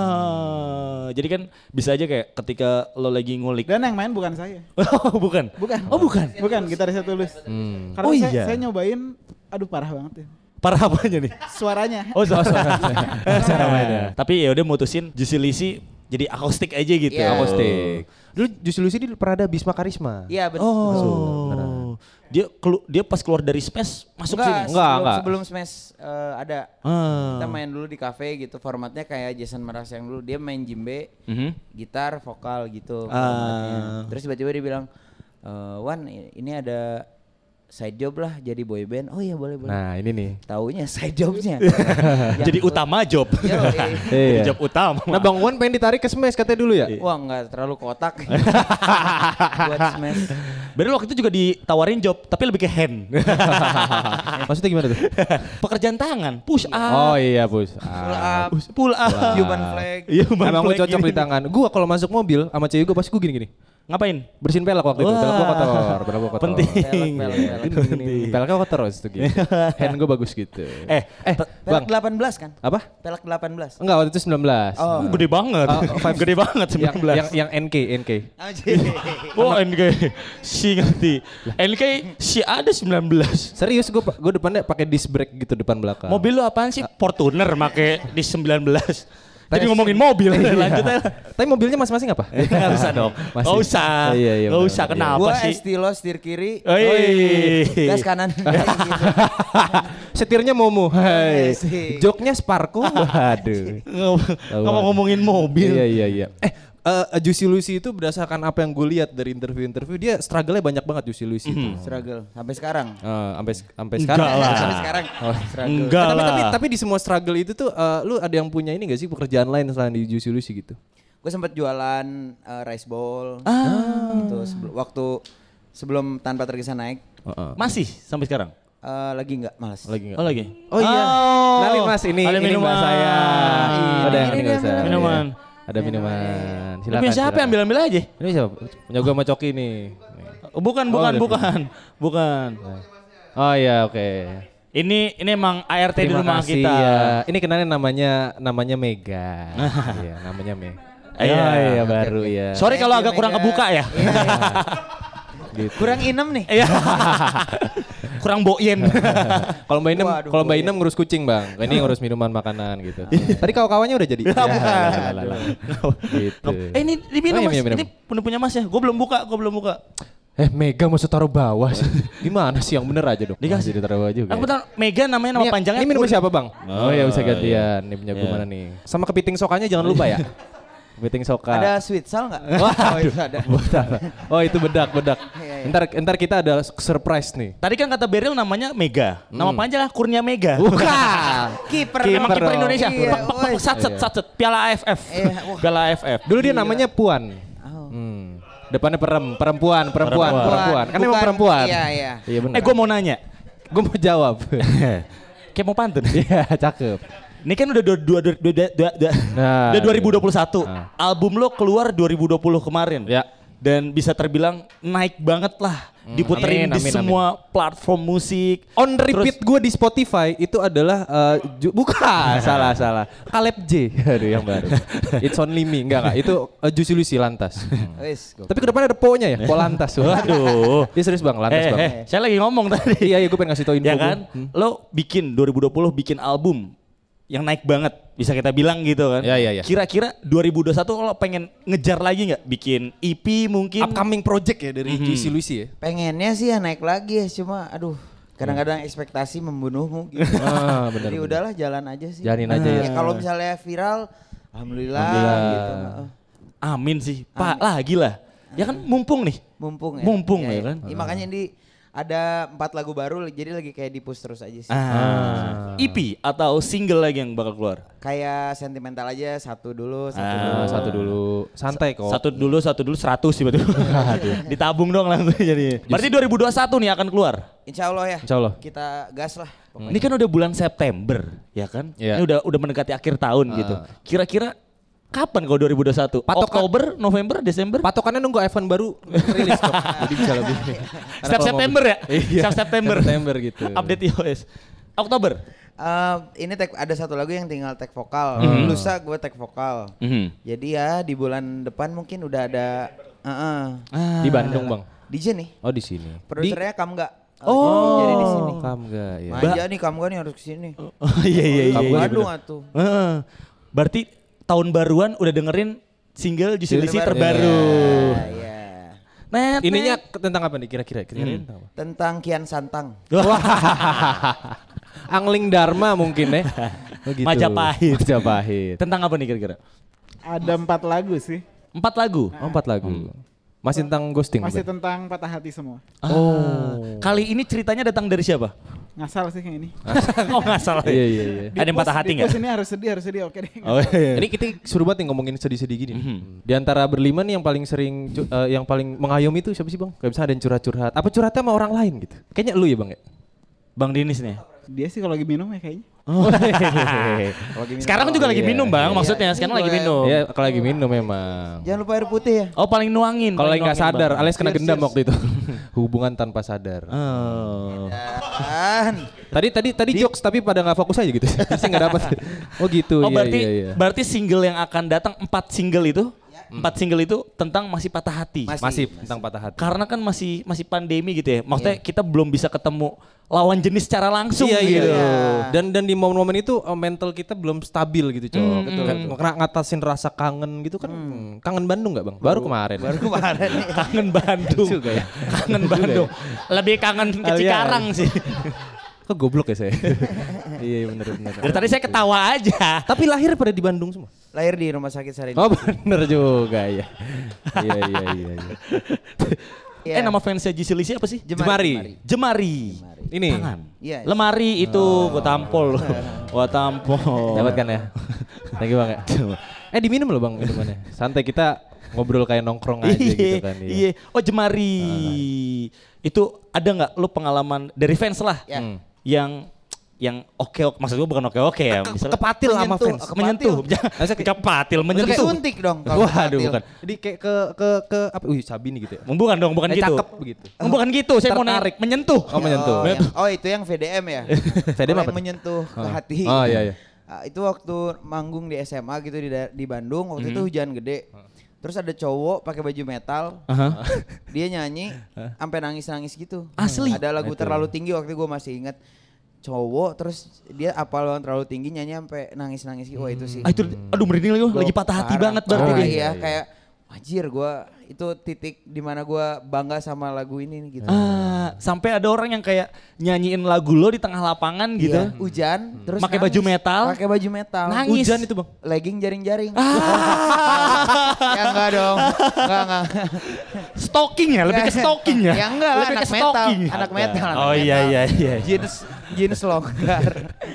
Ah, jadi kan bisa aja kayak ketika lo lagi ngulik.
Dan yang main bukan saya.
Oh bukan.
Bukan.
Oh bukan.
Bukan gitarisnya Tulus.
Hmm.
Karena
Oh,
saya,
iya.
saya nyobain, aduh parah banget ya.
Parah apanya nih?
Suaranya.
Oh suara suara mainnya. Tapi ya udah mutusin Juicy Lucy jadi akustik aja gitu.
Iya.
Akustik. Dulu Juicy Lucy di pernah ada Bisma Karisma.
Iya, betul.
Oh. Dia kelu- dia pas keluar dari Smash masuk
Enggak,
sini.
Enggak,
sebelum,
enggak.
sebelum Smash eh, ada.
Ah.
Kita main dulu di cafe gitu, formatnya kayak Jason Mraz yang dulu. Dia main djembe,
Mhm.
gitar, vokal gitu.
Ah.
formatnya. Terus tiba-tiba dia bilang, "Eh, Wan ini ada side job lah jadi boy band." Oh iya boleh boleh.
Nah ini nih.
Taunya side jobnya.
Jadi utama job.
Yo,
Jadi
Iya.
job utama.
Nah Bang Wan pengen ditarik ke Smash katanya dulu ya?
Wah nggak terlalu kotak buat Smash.
Berarti waktu itu juga ditawarin job tapi lebih ke hand.
Maksudnya gimana tuh?
Pekerjaan tangan, push up.
Oh iya Bus.
Pull
Ah.
up,
Pull up.
human flag.
Iya, human
Emang gue
flag
cocok
gini.
di tangan. Gua kalau masuk mobil sama cewek gue pasti gue gini-gini.
Ngapain?
Bersihin pelek waktu itu.
Wah.
Pelek gua kotor, pelek gua kotor.
Penting.
Pelek, pelek, pelek.
Penting. Peleknya kotor terus tuh gitu. Hand gua bagus gitu.
Eh,
eh,
Pelek
Bang.
delapan belas kan?
Apa?
Pelek delapan belas.
Enggak, waktu itu sembilan belas.
Oh.
gede banget.
Oh,
Gede banget
Yang,
sembilan belas.
yang yang N K, N K.
Oh N K. Si ngerti. N K si ada sembilan belas.
Serius gua gua depannya pakai disc brake gitu depan belakang.
Mobil lu apaan sih? Fortuner make di sembilan belas. Jadi ngomongin mobil, lanjut aja.
Tapi mobilnya masing-masing apa?
Nggak usah dong.
Masih.
Nggak usah.
Oh, iya, iya,
Nggak
benar,
usah.
benar.
Kenapa
Gua
sih?
estilo setir kiri.
Oi.
Gas kanan. Gitu.
Setirnya Momo. Hai.
Asik.
Joknya Sparko. Waduh.
Nggak mau ngomongin mobil.
Iya iya iya. Eh uh, Juicy Lucy itu berdasarkan apa yang gue lihat dari interview-interview dia struggle-nya banyak banget Juicy Lucy itu.
Struggle sampai sekarang.
Uh, sampai sampai
Enggak
sekarang.
lah.
Sampai sekarang. Struggle.
Enggak
Eh, tapi,
lah.
tapi tapi di semua struggle itu tuh uh, lu ada yang punya ini gak sih pekerjaan lain selain di Juicy Lucy gitu?
Gue sempat jualan uh, rice bowl.
Ah.
Gitu, sebelum, waktu sebelum Tanpa Tergesa naik.
Uh-uh.
Masih sampai sekarang?
Uh, lagi enggak, malas.
Lagi
Oh
enggak?
lagi?
Oh iya.
Oh.
Kenalin Mas ini
Ada
ini
minuman.
Mbak saya.
Ini,
Ada yang
ini
ini
dia
nggak usah.
minuman.
Iya. Ada minuman.
Lu
Silakan.
punya siapa
silakan.
ambil-ambil aja?
Ini siapa? Punya gua sama Coki nih. Nih.
Oh, bukan,
Oh,
bukan,
ada.
bukan. Bukan.
Oh iya oke.
Ini ini emang A R T di
Terima
rumah
kasih
kita.
ya. Ini kenalin namanya namanya Mega. Iya, namanya Mega.
Iya.
Oh, iya baru ya.
Sorry kalau
Thank you,
agak kurang
Mega.
kebuka ya.
Gitu.
Kurang inem nih.
Iya. Kurang boyen.
Kalau Mbak Inem,
Waduh,
kalau Mbak
boleh.
Inem ngurus kucing bang, ini ngurus minuman makanan gitu. Tadi kawan-kawannya udah jadi. Ya, lah, lah, lah. Gitu.
Eh ini diminum
Oh, iya,
mas,
minum, minum.
ini punya punya mas ya. Gue belum buka, gue belum buka.
Eh Mega maksud taruh bawah sih. Gimana sih yang bener aja dong?
Dikasih.
Jadi taruh bawah juga.
Aku betul, Mega namanya nama
Ini-
panjangnya.
Ini minum
Kur-
siapa bang? Oh ya bisa gantian. Ini punya gue
Iya.
mana nih? Sama kepiting sokanya jangan lupa ya. Kepiting soka.
Ada sweet sal nggak?
Wah,
Oh, itu ada.
Oh itu bedak bedak.
Iya, iya.
Ntar ntar kita ada surprise nih.
Tadi kan kata Beril namanya Mega. Nama panjang Kurnia Mega.
Bukan.
Kiper
Emang kiper
dong.
Indonesia.
Iya,
Pak, pak, pak,
woi.
Satset,
Iya.
satset. Piala A F F.
Iya, wah.
Piala A F F.
Dulu dia namanya Puan.
Oh.
Hmm. Depannya perem, perempuan, perempuan,
Perempuan.
perempuan. Kan emang
Bukan-
perempuan.
Iya, iya.
Iya benar.
Eh gue mau nanya.
gue mau jawab.
Kayak mau pantun.
Iya, cakep.
Ini kan udah dua, dua, dua, dua, dua, dua,
Nah,
udah dua ribu dua puluh satu.
Nah.
Album lo keluar dua ribu dua puluh kemarin.
Ya.
Dan bisa terbilang naik banget lah. Diputerin
Amin,
di
amin,
semua platform musik.
On repeat gue di Spotify itu adalah uh, ju- bukan salah salah Caleb J. Aduh yang baru. It's only me enggak enggak itu uh, Juicy Lucy Lantas. Hmm.
Wis, gua-
Tapi ke depannya ada po-nya ya, po Lantas.
Waduh.
Iya serius Bang, Lantas
Eh,
Bang.
eh, saya lagi ngomong tadi.
Iya, iya gue pengen ngasih tau info
Ya
gua.
kan? Lo bikin dua ribu dua puluh bikin album yang naik banget, bisa kita bilang gitu kan.
Ya, ya, ya.
Kira-kira dua ribu dua puluh satu lo pengen ngejar lagi nggak? Bikin E P mungkin?
Upcoming project ya dari
Mhm.
Juicy Lucy ya.
pengennya sih ya naik lagi ya, cuma aduh kadang-kadang ekspektasi membunuhmu gitu.
Ah, benar.
Jadi
benar.
udahlah jalan aja sih.
Jalanin aja ya.
Ya kalau misalnya viral, alhamdulillah,
Alhamdulillah.
gitu. Heeh.
Amin sih. Pak, lagi lah. Ya kan mumpung nih.
Mumpung ya.
Mumpung
ya,
ya
ya.
kan?
Iya, makanya di ada empat lagu baru, jadi lagi kayak di push terus aja sih.
Ah. E P atau single lagi yang bakal keluar?
Kayak sentimental aja, satu dulu, satu
Ah,
dulu.
Ah, satu dulu. Santai kok.
Satu dulu, satu dulu, seratus sih betul. Ditabung dong langsung jadi. Berarti dua ribu dua puluh satu nih akan keluar.
Insya Allah ya.
Insya Allah.
Kita gas lah. pokoknya.
Ini kan udah bulan September, ya kan?
Iya.
Ini udah udah mendekati akhir tahun gitu. Kira-kira kapan kalau dua ribu dua puluh satu?
Patokan-
Oktober, November, Desember?
Patokannya nunggu iPhone baru rilis kok. Jadi bisa lebih.
Setiap September ya?
Iya.
Setiap September.
September gitu.
Update iOS. Oktober.
Eh, ini tag, ada satu lagu yang tinggal tag vokal.
Hmm.
Lusa gue tag vokal.
Mhm.
Jadi ya di bulan depan mungkin udah ada uh
Ah.
Di Bandung bang.
D J nih.
Oh di sini.
Produsernya Kamga.
Oh.
Jadi di sini.
Kamu enggak ya.
Manja nih Kamga nih harus kesini.
Oh iya iya iya.
Kamu
iya,
Bandung
bener.
atuh.
Heeh. Berarti tahun baruan udah dengerin single Juicy Lucy
Terbaru.
terbaru.
Ya, ya.
Net,
Ininya
net.
ke- tentang apa nih kira-kira? Kira-kira tentang apa?
Tentang Kian Santang.
Angling Dharma mungkin ya. Oh, gitu.
Majapahit.
Majapahit.
Tentang apa nih kira-kira?
Ada empat lagu sih.
Empat lagu.
Oh, empat lagu. Masih tentang ghosting.
Masih
bukan?
tentang patah hati semua.
Oh. Kali ini ceritanya datang dari siapa?
Ngasal sih yang ini.
Oh nggak salah.
Iya iya iya.
Ada yang patah hati
Di pos
nggak?
ini harus sedih, harus sedih. Oke deh.
Oh iya.
Ini kita suruh banget nih ngomongin sedih-sedih gini.
Mhm.
Di antara berlima nih yang paling sering cu- eh, yang paling mengayomi itu siapa sih bang? Kayak misalnya ada yang curhat-curhat. Apa curhatnya sama orang lain gitu? Kayaknya lu ya bang ya?
Bang Dinis nih.
Dia sih kalau lagi minum ya kayaknya.
Sekarang juga lagi minum bang,
Iya,
maksudnya sekarang lagi minum.
Iya, kalau lagi minum memang.
Jangan lupa air putih ya.
Oh paling nuangin.
Kalau lagi
paling
nggak
nuangin,
sadar,
Bang.
alias kena
Cheers,
gendam
cheers.
waktu itu. Hubungan tanpa sadar.
Oh.
Kan.
Tadi tadi tadi jokes tapi pada nggak fokus aja gitu. Pasti nggak dapat. Oh gitu.
Oh
iya,
berarti
iya, iya.
berarti single yang akan datang empat single itu, empat single itu tentang masih patah hati.
Masih.
Masih tentang patah hati.
Karena kan masih masih pandemi gitu ya. Maksudnya kita belum bisa ketemu lawan jenis secara langsung
Iya iya.
gitu.
Dan dan di momen-momen itu uh, mental kita belum stabil gitu, Cok.
Hmm,
Betul. Karena ngatasin rasa kangen gitu kan. hmm, Kangen Bandung nggak Bang? Baru kemarin.
Baru kemarin nih.
Kangen Bandung.
Juga ya.
Kangen Bandung. Lebih kangen ke
Alias.
Cikarang sih.
Kok goblok ya saya? Iya bener bener.
Dari tadi saya ketawa aja.
Tapi lahir pada di Bandung semua.
Lahir di rumah sakit Sarina.
Oh bener juga ya. Iya iya iya. iya.
Iya.
Eh nama fansnya Juicy Luicy apa sih?
Jemari.
Jemari.
Ini.
Tangan.
Iya.
Lemari itu gua tampol. Gua tampol.
Dapat kan ya? Thank you Bang ya. Eh diminum loh Bang minumannya. Santai kita ngobrol kayak nongkrong aja gitu kan.
Iya. Oh Jemari. Itu ada nggak lu pengalaman dari fans lah
Ya.
Hmm.
yang yang oke oke maksud gua bukan oke oke ya misalnya
Kepatil sama
Menyentuh.
fans.
Kepatil.
menyentuh
Maksudnya kayak-
kepatil
Kayak
menyentuh
suntik dong kalau
Waduh
kepatil.
bukan. Jadi kayak ke ke ke apa? Wih Sabini gitu ya.
bukan dong bukan
Kayak
gitu
cakep begitu.
bukan gitu saya mau
Tertarik.
narik menyentuh
Oh menyentuh.
Oh, yang- oh itu yang V D M ya?
V D M
Kalau
apa
yang
tuh?
menyentuh ke
Oh.
hati.
Oh iya iya.
Ah, itu waktu manggung di S M A gitu di da- di Bandung waktu itu hujan gede. Terus ada cowok pakai baju metal.
Aha.
Dia nyanyi sampai nangis-nangis gitu.
Asli?
Ada lagu
Itu.
terlalu tinggi waktu itu gue masih ingat. Cowok terus dia apal banget terlalu tinggi nyanyi sampai nangis-nangis gitu. Wah itu sih.
Ah, itu aduh merinding lagi
Gua
lagi patah hati
parah.
banget berarti
Oh,
dia.
iya, kayak anjir gue itu titik dimana gue bangga sama lagu ini nih, gitu.
Ah, sampai ada orang yang kayak nyanyiin lagu lo di tengah lapangan gitu.
Iya, hujan terus
Pakai
nangis.
baju metal.
Pakai baju metal.
Nangis.
Hujan itu Bang.
Legging jaring-jaring.
Ah.
Ya enggak dong. Enggak enggak.
Stalking ya, lebih ke stalking ya.
Ya enggak lah,
Lebih
anak
ke
metal.
stalking.
Anak metal. anak
Oh iya
metal.
iya iya.
Jeans jeans longgar.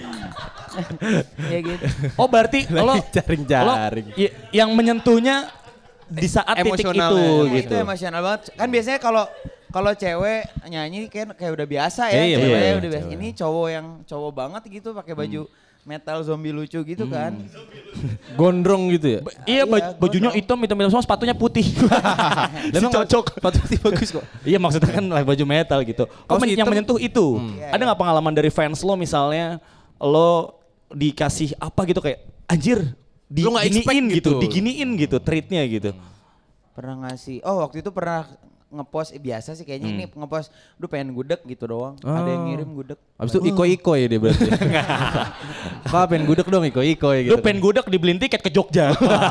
Ya gitu.
Oh berarti lo
jaring-jaring.
lo y- yang menyentuhnya di saat titik
Emosionalnya.
itu
Itu
gitu.
emosional banget. Kan biasanya kalau kalau cewek nyanyi kayak kayak udah biasa
Iya,
ya,
iya,
cewek
iya,
udah biasa.
cewek.
Ini cowok yang cowok banget gitu pakai baju metal zombie lucu gitu kan.
Gondrong gitu ya.
Iya, baj-
Iya,
bajunya
gondrong.
hitam, hitam, hitam semua, sepatunya putih.
Memang
cocok.
Sepatu bagus kok.
Iya maksudnya kan lah baju metal gitu. Oh,
Kaos
men- yang
hitam.
menyentuh itu.
Iya,
Ada nggak pengalaman dari fans lo misalnya lo dikasih apa gitu kayak anjir
Lo nggak expect
diginiin gitu,
gitu.
diginiin gitu treatnya gitu.
Pernah ngasih. Oh, waktu itu pernah ngepost eh, biasa sih kayaknya ini ngepost duh pengen gudeg gitu doang. Ada yang ngirim gudeg.
Abis itu iko-iko ya dia berarti. Pak pengen gudeg dong iko-iko ya gitu.
Lu pengen gudeg dibeliin tiket ke Jogja.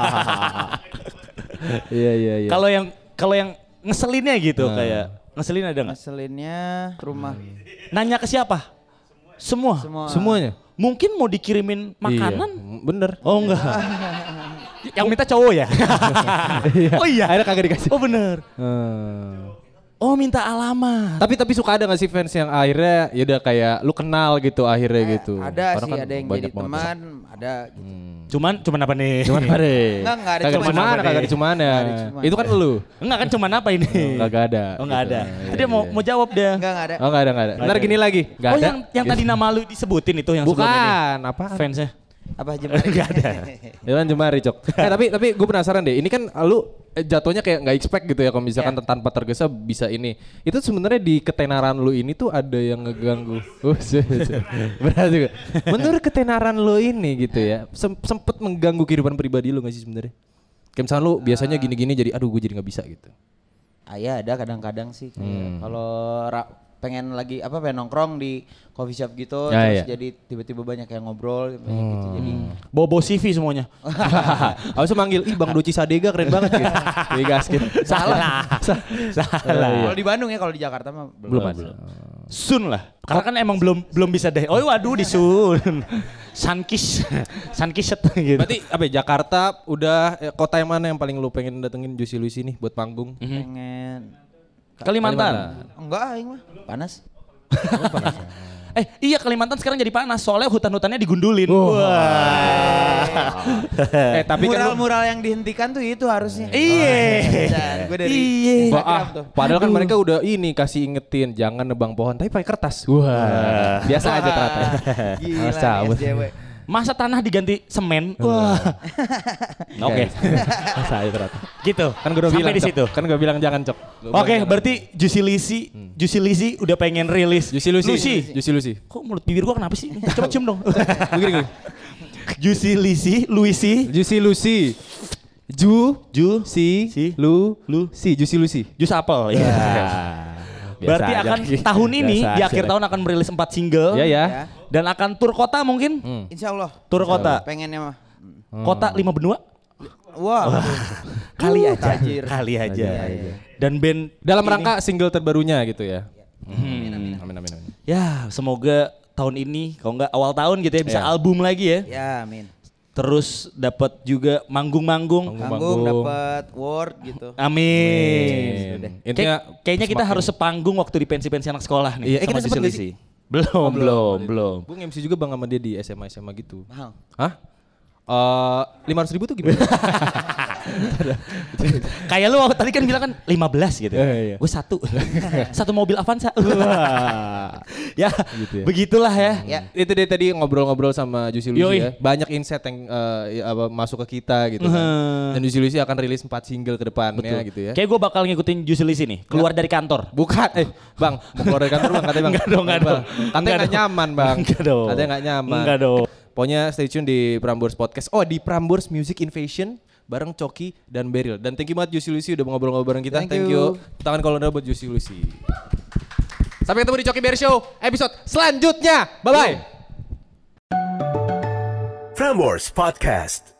Iya iya iya.
Kalau yang kalau yang ngeselinnya gitu kayak ngeselin ada nggak?
Ngeselinnya rumah.
Nanya ke siapa? Semua.
Semua.
Semuanya.
Mungkin mau dikirimin makanan?
Iya, bener.
Oh enggak. Yang minta cowok ya? oh iya.
Akhirnya kagak dikasih.
Oh bener.
Hmm.
Oh minta alamat.
Tapi tapi suka ada gak sih fans yang akhirnya ya udah kayak lu kenal gitu akhirnya
Eh,
gitu.
Ada
Karena
sih,
kan
ada yang
banyak
jadi
banget.
teman, ada gitu.
Cuman cuman apa nih?
Cuman apa deh?
Enggak, enggak ada
Kagak
cuman
cuman,
apa
kagak
deh.
ada cuman ya.
Nggak ada cuman.
Itu kan lu.
Enggak kan cuman apa ini?
Kagak ada.
Oh enggak
gitu.
ada.
Iya,
Dia mau
iya.
mau jawab dia.
Enggak, enggak ada.
Oh enggak ada enggak ada. Ntar gini lagi. Enggak
Oh
ada.
yang yang tadi nama lu disebutin itu yang sebelum ini.
Bukan, apa?
Fansnya.
Apa jemari?
Enggak ada.
Ya kan Jemari Cok. Eh tapi tapi gue penasaran deh. Ini kan lu eh, jatuhnya kayak nggak expect gitu ya kalau misalkan
Iya.
tanpa tergesa bisa ini. Itu sebenarnya di ketenaran lu ini tuh ada yang ngeganggu. Uh, berat juga. Menurut ketenaran lu ini gitu ya, sem- sempet mengganggu kehidupan pribadi lu nggak sih sebenarnya? Kayak misalnya lu biasanya gini-gini jadi aduh gue jadi nggak bisa gitu.
Ah, ya ada kadang-kadang sih kayak
Hmm.
kalau ra- pengen lagi apa pengen nongkrong di coffee shop gitu
Ya,
terus
ya.
jadi tiba-tiba banyak yang ngobrol banyak gitu jadi
Bobo C V semuanya.
Abis itu manggil, ih Bang Doci Sadega keren banget gitu. Wih gaskin.
Salah. Salah.
kalau di Bandung ya kalau di Jakarta mah belum,
Belum ada.
Sun lah. Karena kan emang belum belum bisa deh. Oh waduh di Sun. Sunkis. Sunkis gitu.
Berarti apa ya, Jakarta udah eh, kota yang mana yang paling lu pengen datengin Juicy Luicy nih buat panggung?
pengen
Kalimantan.
enggak aing mah panas
Eh iya Kalimantan sekarang jadi panas soalnya hutan-hutannya digundulin.
Oh.
Wah.
eh tapi kan
mural-mural yang dihentikan tuh itu harusnya.
Iya.
Gue dari
Iya.
Instagram
ah,
tuh.
padahal kan mereka udah ini kasih ingetin jangan nebang pohon tapi pakai kertas. Wah. Biasa aja ternyata.
Gila
Masa,
nih S J W.
Masa tanah diganti semen? Wah. Oke.
Masa aja ternyata.
Gitu.
Kan gue udah
Sampai
bilang
di
Cok.
situ.
Kan gue bilang jangan Cok.
Oke, berarti Juicy Lucy, Juicy Lucy udah pengen rilis.
Juicy Lucy.
Lucy.
Juicy Lucy.
Kok mulut bibir gua kenapa sih? Coba cium dong.
Begini gini.
Juicy Lucy, Lucy,
Juicy Lucy. Ju
Ju,
si
Si.
lu
Lu.
si Juicy Lucy.
Jus apel. Ya. Berarti
Biasa aja.
akan tahun ini
Biasa
di
aja.
akhir tahun akan merilis empat single.
Iya ya.
Ya.
Dan akan tur kota mungkin.
Hmm.
Insya Allah.
Tur kota.
Pengennya mah.
Kota lima benua.
Wah.
Kali aja.
tajir.
Kali aja.
Iya, iya.
Dan band
Dalam
ini-
rangka single terbarunya gitu ya.
Hmm.
Amin amin amin.
Ya, semoga tahun ini kalau nggak awal tahun gitu ya bisa
Iya.
album lagi ya.
Ya, amin.
Terus dapat juga manggung-manggung.
Manggung.
Panggung dapat award gitu.
Amin.
Amin.
Kayak-
Intinya
kayaknya kita
semakin-
harus sepanggung waktu di pensi-pensi anak sekolah nih.
Iya, eh,
sama
kita sempet
Juicy
nggak
Lucy. Belum, belum, belum.
Gue M C juga bang sama dia di S M A S M A gitu.
Mahal.
Hah? Eh lima ratus ribu tuh gimana?
Kayak lu tadi kan bilang kan lima belas gitu.
Eh, iya.
Gue satu. Satu mobil Avanza. Ya,
Gitu ya.
begitulah ya.
Ya.
Itu dia tadi ngobrol-ngobrol sama Juicy Lucy
Yoi.
ya. Banyak insight yang eh, ya, apa, masuk ke kita gitu kan.
Hmm.
Dan Juicy Lucy akan rilis empat single ke depannya gitu ya.
Kayak gue bakal ngikutin Juicy Lucy nih. Keluar dari kantor.
Bukan, eh bang, mau keluar dari kantor bang, katanya bang.
Enggak dong, enggak
Bang.
dong.
Katanya
Enggak
nggak
dong.
nyaman bang.
Enggak dong.
Katanya nggak nyaman.
Enggak dong.
Pokoknya stay tune di Prambors Podcast. Oh di Prambors Music Invasion bareng Coki dan Beryl. Dan thank you banget Juicy Lucy udah ngobrol-ngobrol bareng kita.
Thank you.
Tangan kalau udah buat Juicy Lucy. Sampai ketemu di Coki Beryl Show episode selanjutnya. Bye bye.
Prambors Podcast.